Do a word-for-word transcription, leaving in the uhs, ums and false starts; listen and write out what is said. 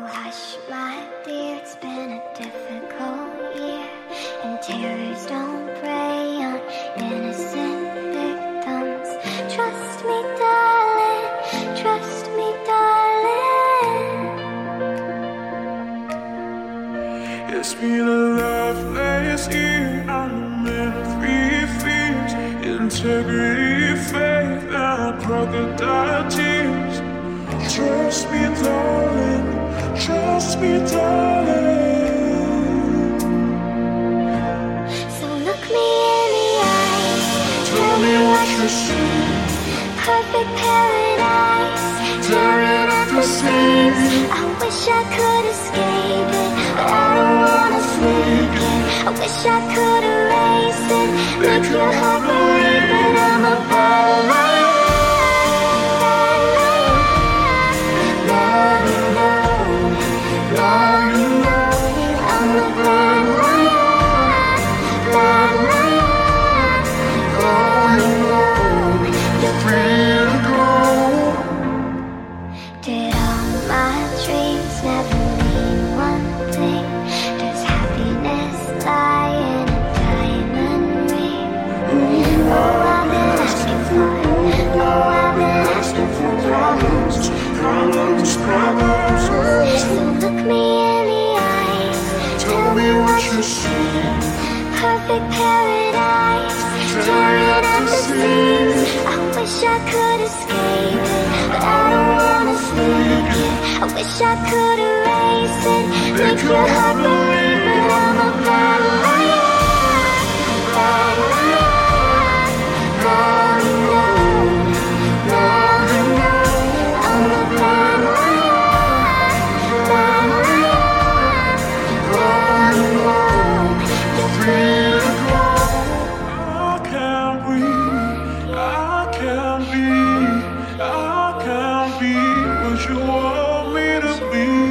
hush, my dear, it's been a difficult year, and terrors don't prey on innocent victims. Trust me, darling, trust me, darling. It's been a loveless year, I'm in three fears: integrity, faith, and crocodile tears. Trust me, darling, trust me, darling. So look me in the eyes, Tell me what you see. perfect paradise, tearing at the seams. I wish I could escape it, but I don't wanna sleep it. I wish I could erase it, make your heart believe, but I'm a bad liar. Did all my dreams never mean one thing? Does happiness lie in a diamond ring? Oh, I've been asking for it. Oh, I've been asking for problems, problems, problems. So look me in the eyes, Tell me what you see. perfect paradise, tearing at the seams. I wish I could escape it, but I don't wanna sleep it. I wish I could erase it, make your heart believe, but I'm a bad liar, bad liar. Now you know, now you know, I'm a bad liar, bad liar. Now you know, you're free to go. I can't breathe, I can't be, I can't be what you want me to be.